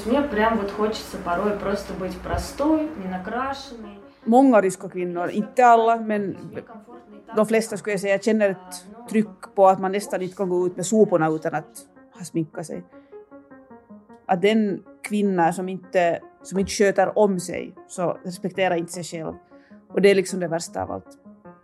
мне прям вот хочется порой просто быть простой, не накрашенной. Många ryska kvinnor, inte alla, men de flesta skulle jag säga känner ett tryck på att man nästan inte kan gå ut med soporna utan att ha sminkat sig. Att den kvinna som inte sköter om sig så respekterar inte sig själv. Och det är liksom det värsta av allt.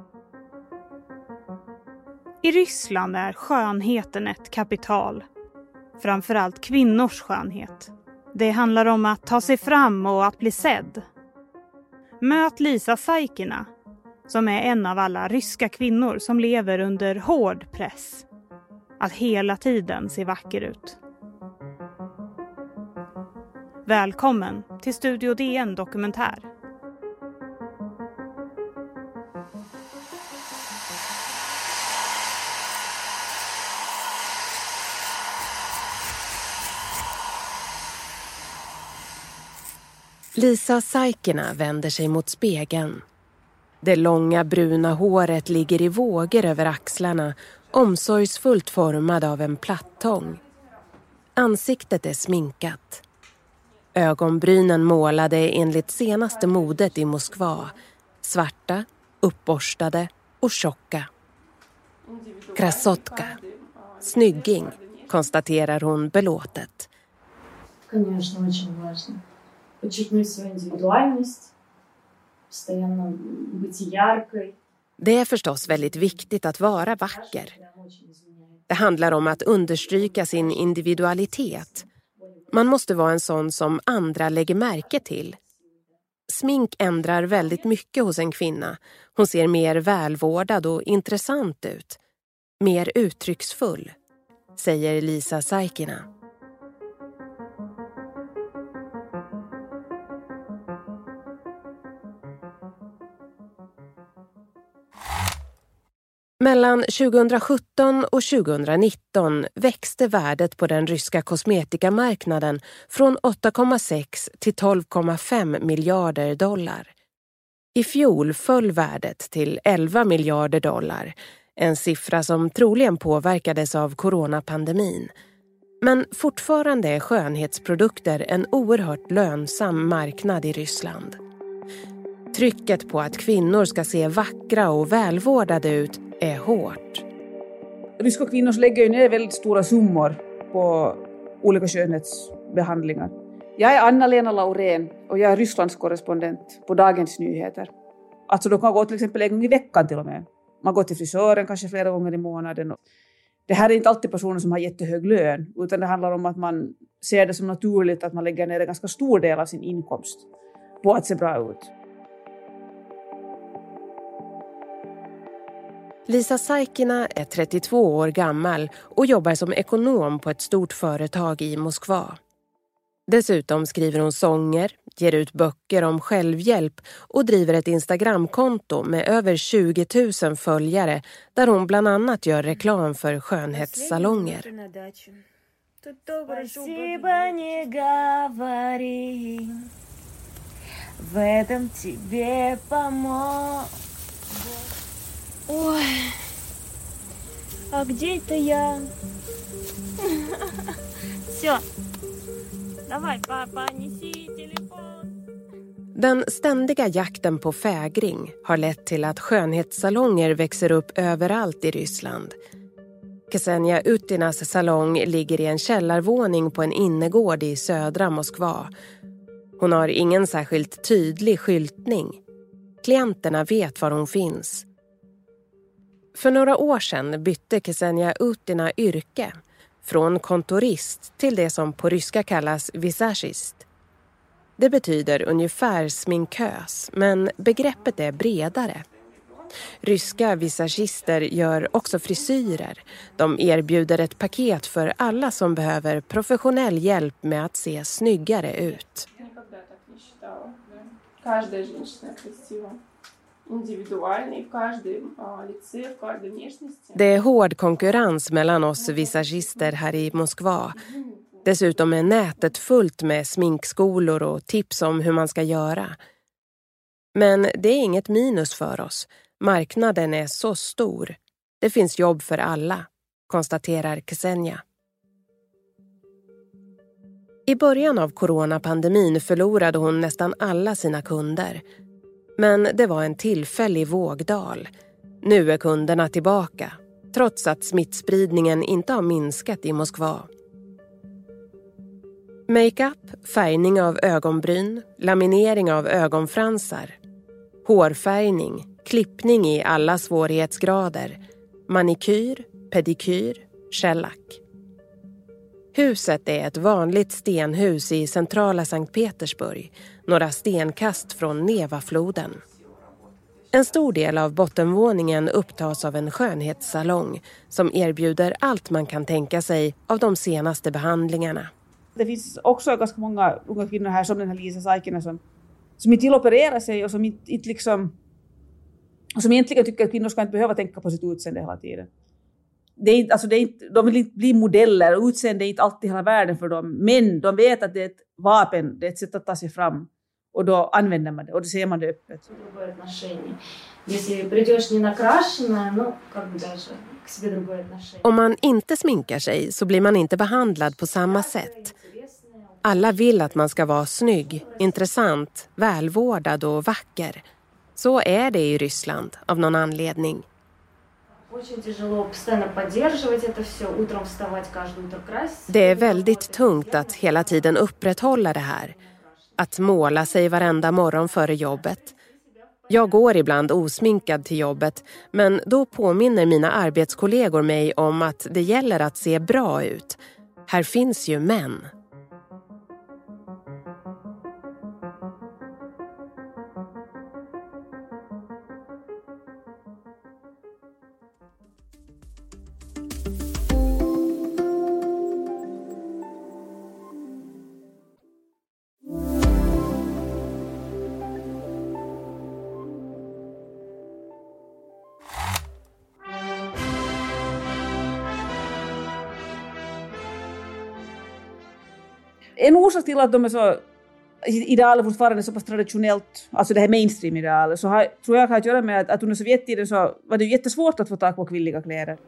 I Ryssland är skönheten ett kapital. Framförallt kvinnors skönhet. Det handlar om att ta sig fram och att bli sedd. Möt Lisa Saikina, som är en av alla ryska kvinnor som lever under hård press. Att hela tiden se vacker ut. Välkommen till Studio DN Dokumentär. Lisa Saikina vänder sig mot spegeln. Det långa bruna håret ligger i vågor över axlarna, omsorgsfullt formad av en plattång. Ansiktet är sminkat. Ögonbrynen målade enligt senaste modet i Moskva. Svarta, uppborstade och tjocka. Krasotka. Snygging, konstaterar hon belåtet. Конечно, очень важно. Подчеркнуть свою индивидуальность, постоянно быть яркой. Det är förstås väldigt viktigt att vara vacker. Det handlar om att understryka sin individualitet. Man måste vara en sån som andra lägger märke till. Smink ändrar väldigt mycket hos en kvinna. Hon ser mer välvårdad och intressant ut. Mer uttrycksfull, säger Lisa Saikina. Mellan 2017 och 2019 växte värdet på den ryska kosmetikamarknaden från 8,6 till 12,5 miljarder dollar. I fjol föll värdet till 11 miljarder dollar, en siffra som troligen påverkades av coronapandemin. Men fortfarande är skönhetsprodukter en oerhört lönsam marknad i Ryssland. Trycket på att kvinnor ska se vackra och välvårdade ut är hårt. Ryska kvinnor lägger ju ner väldigt stora summor på olika skönhetsbehandlingar. Jag är Anna-Lena Laurén och jag är Rysslands korrespondent på Dagens Nyheter. Alltså de kan gå till exempel en gång i veckan till och med. Man går till frisören kanske flera gånger i månaden. Det här är inte alltid personer som har jättehög lön, utan det handlar om att man ser det som naturligt att man lägger ner en ganska stor del av sin inkomst på att se bra ut. Lisa Saikina är 32 år gammal och jobbar som ekonom på ett stort företag i Moskva. Dessutom skriver hon sånger, ger ut böcker om självhjälp och driver ett Instagramkonto med över 20 000 följare där hon bland annat gör reklam för skönhetssalonger. Ой, а где это я? Все, давай, папа, неси телефон. Den ständiga jakten på fägring har lett till att skönhetssalonger växer upp överallt i Ryssland. Ksenia Utinas salong ligger i en källarvåning på en innergård i södra Moskva. Hon har ingen särskilt tydlig skyltning. Klienterna vet var hon finns. För några år sedan bytte Ksenia Utina yrke, från kontorist till det som på ryska kallas visagist. Det betyder ungefär sminkös, men begreppet är bredare. Ryska visagister gör också frisyrer. De erbjuder ett paket för alla som behöver professionell hjälp med att se snyggare ut. Det är hård konkurrens mellan oss visagister här i Moskva. Dessutom är nätet fullt med sminkskolor och tips om hur man ska göra. Men det är inget minus för oss. Marknaden är så stor. Det finns jobb för alla, konstaterar Ksenia. I början av coronapandemin förlorade hon nästan alla sina kunder. Men det var en tillfällig vågdal. Nu är kunderna tillbaka, trots att smittspridningen inte har minskat i Moskva. Makeup, färgning av ögonbryn, laminering av ögonfransar, hårfärgning, klippning i alla svårighetsgrader, manikyr, pedikyr, shellack. Huset är ett vanligt stenhus i centrala Sankt Petersburg, några stenkast från Nevafloden. En stor del av bottenvåningen upptas av en skönhetssalong som erbjuder allt man kan tänka sig av de senaste behandlingarna. Det finns också ganska många unga kvinnor här som den här Lisa Saikinen som inte vill operera sig och som inte liksom, och som egentligen tycker att kvinnor ska inte behöva tänka på sitt utseende hela tiden. De vill inte bli modeller och utseende är inte alltid hela världen för dem. Men de vet att det är ett vapen, det är ett sätt att ta sig fram. Och då använder man det och då ser man det öppet. Om man inte sminkar sig så blir man inte behandlad på samma sätt. Alla vill att man ska vara snygg, intressant, välvårdad och vacker. Så är det i Ryssland av någon anledning. Det är väldigt tungt att hela tiden upprätthålla det här. Att måla sig varenda morgon före jobbet. Jag går ibland osminkad till jobbet, men då påminner mina arbetskollegor mig om att det gäller att se bra ut. Här finns ju män. En orsak till att de är så idealer fortfarande så pass traditionellt, alltså det här mainstream-idealer, så tror jag har att göra med att under Sovjettiden så var det jättesvårt att få tag på kvinnliga kläder.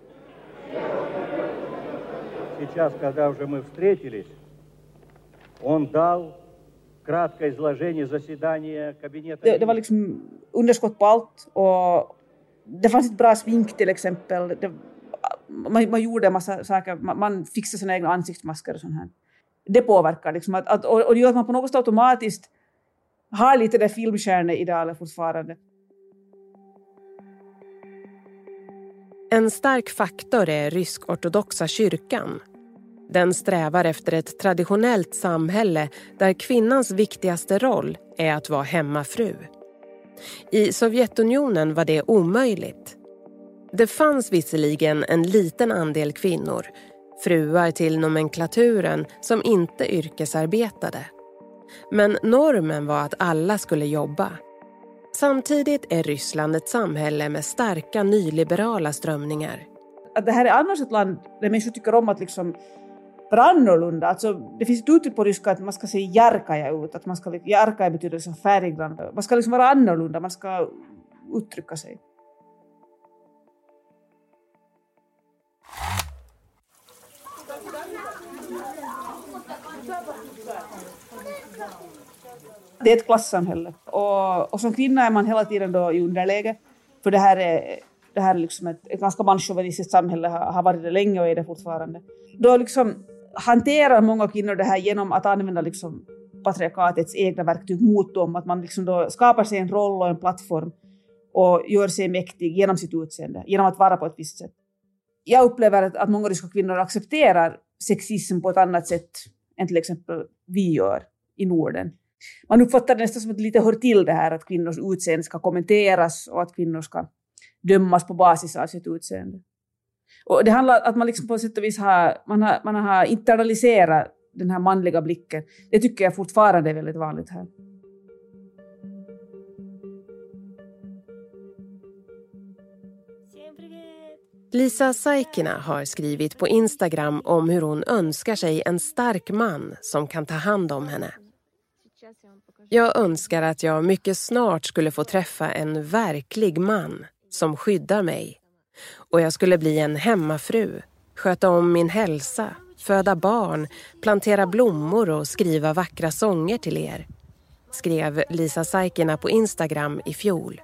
Сейчас, когда уже мы встретились, он дал краткое изложение заседания кабинета. Det var liksom underskott på allt och det fanns ett bra smink till exempel. Man gjorde en massa saker, man fixade sina egna ansiktsmasker och sånt här. Det påverkar liksom och det gör att man på något sätt automatiskt har lite där filmstjärneidealer fortfarande. En stark faktor är rysk-ortodoxa kyrkan. Den strävar efter ett traditionellt samhälle där kvinnans viktigaste roll är att vara hemmafru. I Sovjetunionen var det omöjligt. Det fanns visserligen en liten andel kvinnor, fruar till nomenklaturen som inte yrkesarbetade. Men normen var att alla skulle jobba. Samtidigt är Ryssland ett samhälle med starka nyliberala strömningar. Att det här är annars ett land där människor tycker om att liksom vara annorlunda. Alltså, det finns ett uttryck på ryska att man ska se jarkaja ut. Att man ska, jarkaja betyder som färggrann. Man ska liksom vara annorlunda, man ska uttrycka sig. Det är ett klassamhälle och som kvinna är man hela tiden då i underläge. För det här är liksom ett ganska manschauvinistiskt samhälle, har varit det länge och är det fortfarande. Då liksom hanterar många kvinnor det här genom att använda liksom patriarkatets egna verktyg mot dem. Att man liksom då skapar sig en roll och en plattform och gör sig mäktig genom sitt utseende, genom att vara på ett visst sätt. Jag upplever att många ryska kvinnor accepterar sexism på ett annat sätt än till exempel vi gör i Norden. Man uppfattar det nästan som att det lite hör till det här att kvinnors utseende ska kommenteras och att kvinnor ska dömas på basis av sitt utseende. Och det handlar om att man liksom på sätt och vis har internaliserat den här manliga blicken. Det tycker jag fortfarande är väldigt vanligt här. Lisa Saikina har skrivit på Instagram om hur hon önskar sig en stark man som kan ta hand om henne. Jag önskar att jag mycket snart skulle få träffa en verklig man som skyddar mig. Och jag skulle bli en hemmafru, sköta om min hälsa, föda barn, plantera blommor och skriva vackra sånger till er, skrev Lisa Saikina på Instagram i fjol.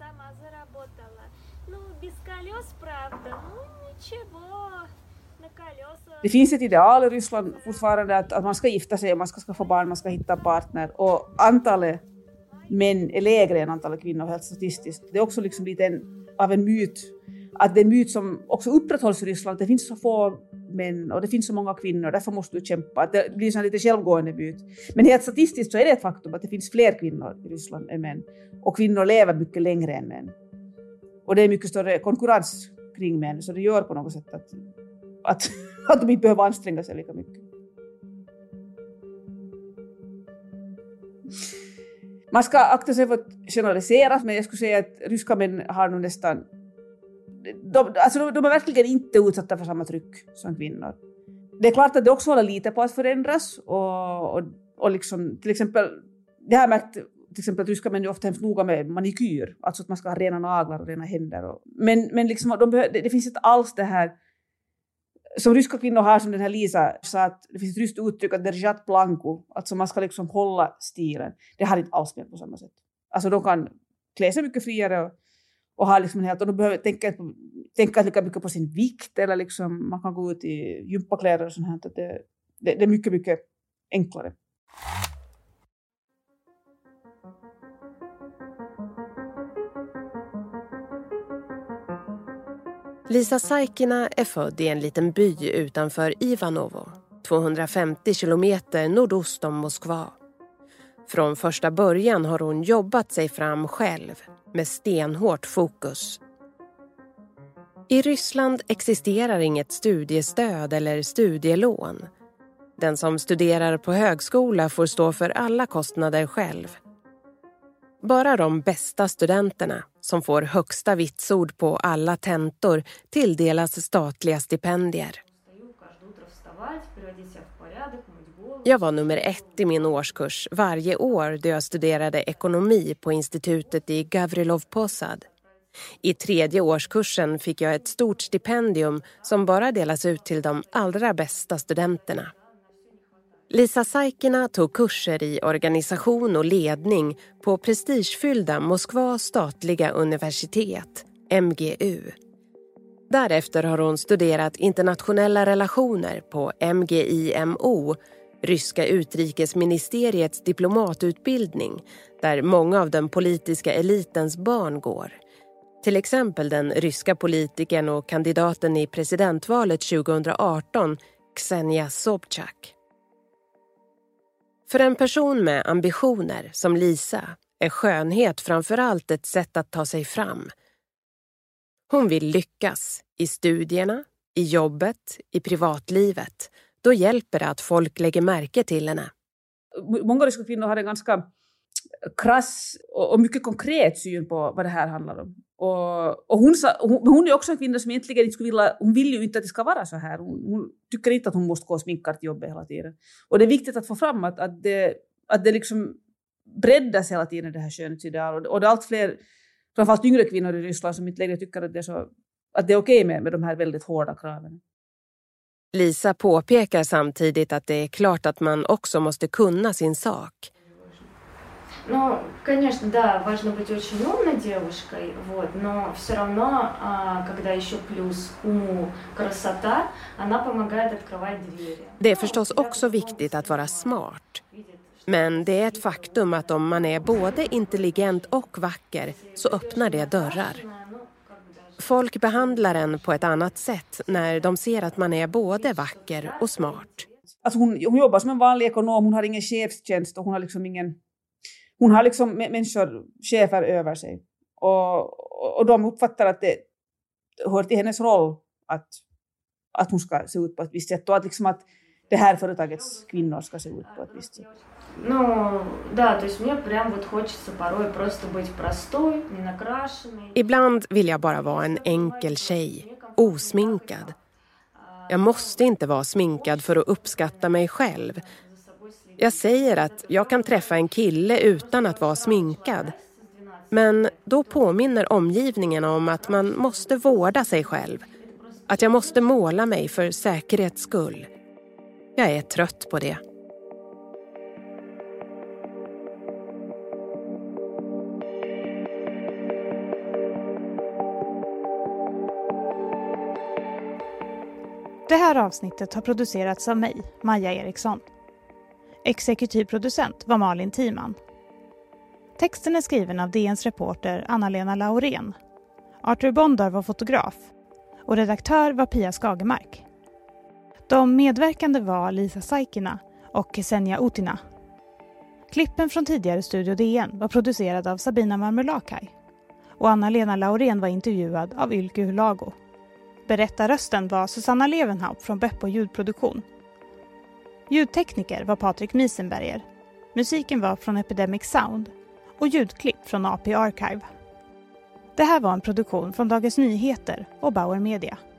Det finns ett ideal i Ryssland fortfarande att man ska gifta sig och man ska skaffa barn, man ska hitta partner. Och antalet män är lägre än antalet kvinnor helt statistiskt. Det är också liksom lite av en myt. Att det är en myt som också upprätthålls i Ryssland. Det finns så få män och det finns så många kvinnor. Därför måste du kämpa. Att det blir en lite självgående myt. Men helt statistiskt så är det ett faktum att det finns fler kvinnor i Ryssland än män. Och kvinnor lever mycket längre än män. Och det är mycket större konkurrens kring män. Så det gör på något sätt att de inte behöver anstränga sig lika mycket. Man ska akta sig för att generalisera, men jag skulle säga att ryska män har nog nästan... De är verkligen inte utsatta för samma tryck som kvinnor. Det är klart att det också håller lite på att förändras. Och liksom, till exempel, det har jag märkt till exempel att ryska män är ofta hemskt noga med manikyr. Alltså att man ska ha rena naglar och rena händer. Men liksom, det finns inte alls det här... Som ryska kvinnor har, som den här Lisa sa, att det finns ett ryskt uttryck att держать планку, alltså man ska liksom hålla stilen. Det har inte alls med på samma sätt. Alltså de kan klä sig mycket friare och ha liksom helt, och de behöver tänka lika mycket på sin vikt, eller liksom man kan gå ut i gympakläder och sånt här. Det är mycket, mycket enklare. Lisa Saikina är född i en liten by utanför Ivanovo, 250 kilometer nordost om Moskva. Från första början har hon jobbat sig fram själv med stenhårt fokus. I Ryssland existerar inget studiestöd eller studielån. Den som studerar på högskola får stå för alla kostnader själv. Bara de bästa studenterna, som får högsta vitsord på alla tentor, tilldelas statliga stipendier. Jag var nummer 1 i min årskurs varje år då jag studerade ekonomi på institutet i Gavrilov Posad. I 3:e årskursen fick jag ett stort stipendium som bara delas ut till de allra bästa studenterna. Lisa Saikina tog kurser i organisation och ledning på prestigefyllda Moskva statliga universitet, MGU. Därefter har hon studerat internationella relationer på MGIMO, ryska utrikesministeriets diplomatutbildning, där många av den politiska elitens barn går. Till exempel den ryska politikern och kandidaten i presidentvalet 2018, Ksenia Sobchak. För en person med ambitioner som Lisa är skönhet framförallt ett sätt att ta sig fram. Hon vill lyckas i studierna, i jobbet, i privatlivet. Då hjälper det att folk lägger märke till henne. Många ryska kvinnor har en ganska krass och mycket konkret syn på vad det här handlar om. Och hon är också en kvinna som egentligen inte skulle vilja, hon vill ju inte att det ska vara så här. Hon tycker inte att hon måste gå och sminka till jobbet hela tiden. Och det är viktigt att få fram att det liksom breddas hela tiden, det här skönhetsideal. Och det är allt fler, framförallt yngre kvinnor i Ryssland, som inte längre tycker att det är okej med de här väldigt hårda kraven. Lisa påpekar samtidigt att det är klart att man också måste kunna sin sak. Ну, конечно, да, важно быть очень умной девушкой, но все равно, когда еще плюс уму красота, она помогает открывать двери. Det är förstås också viktigt att vara smart. Men det är ett faktum att om man är både intelligent och vacker så öppnar det dörrar. Folk behandlar en på ett annat sätt när de ser att man är både vacker och smart. Alltså hon jobbar som en vanlig ekonom, hon har ingen chefstjänst och hon har liksom människor, chefer över sig. Och de uppfattar att det hör till hennes roll att hon ska se ut på ett visst sätt. Och att det här företagets kvinnor ska se ut på ett visst sätt. Ibland vill jag bara vara en enkel tjej, osminkad. Jag måste inte vara sminkad för att uppskatta mig själv. Jag säger att jag kan träffa en kille utan att vara sminkad. Men då påminner omgivningen om att man måste vårda sig själv. Att jag måste måla mig för säkerhets skull. Jag är trött på det. Det här avsnittet har producerats av mig, Maja Eriksson. Exekutiv producent var Malin Timan. Texten är skriven av DNs reporter Anna-Lena Laurén. Arthur Bondar var fotograf och redaktör var Pia Skagemark. De medverkande var Lisa Saikina och Ksenia Utina. Klippen från tidigare Studio DN var producerade av Sabina Marmulakai och Anna-Lena Laurén var intervjuad av Ylke Hulago. Berättarrösten var Susanna Levenhaupt från Beppo ljudproduktion. Ljudtekniker var Patrik Miesenberger. Musiken var från Epidemic Sound och ljudklipp från AP Archive. Det här var en produktion från Dagens Nyheter och Bauer Media.